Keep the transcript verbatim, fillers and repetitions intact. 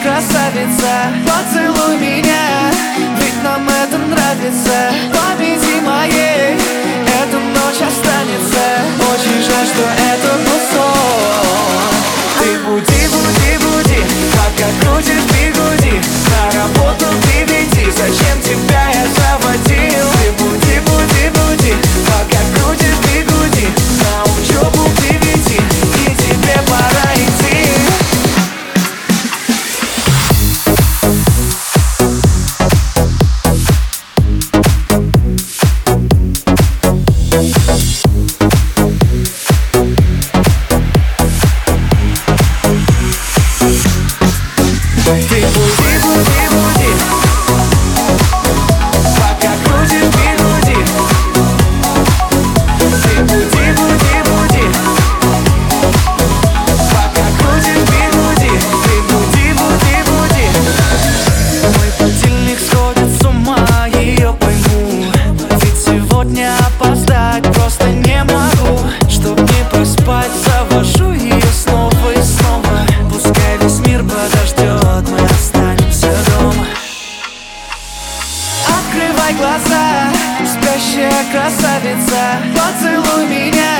красавица, поцелуй меня, ведь нам это нравится. В памяти моей эта ночь останется. Очень жаль, что это был сон. Ты буди, буди, буди, пока крутишь бигуди. На работу ты веди, зачем тебя я заводил? Ты буди, буди, буди, пока крутишь бигуди. На учебу ты веди, и тебе пора идти. Ты буди, буди, буди, пока крутишь бигуди. Ты буди, буди, буди, пока крутишь бигуди. Ты буди, буди, буди. Мой будильник сходит с ума, ее пойму. Ведь сегодня опоздать просто не могу. Чтоб не проспать, завожу ее снова и снова. Пускай весь мир подождет, мы останемся дома. Открывай глаза, спящая красавица, поцелуй меня,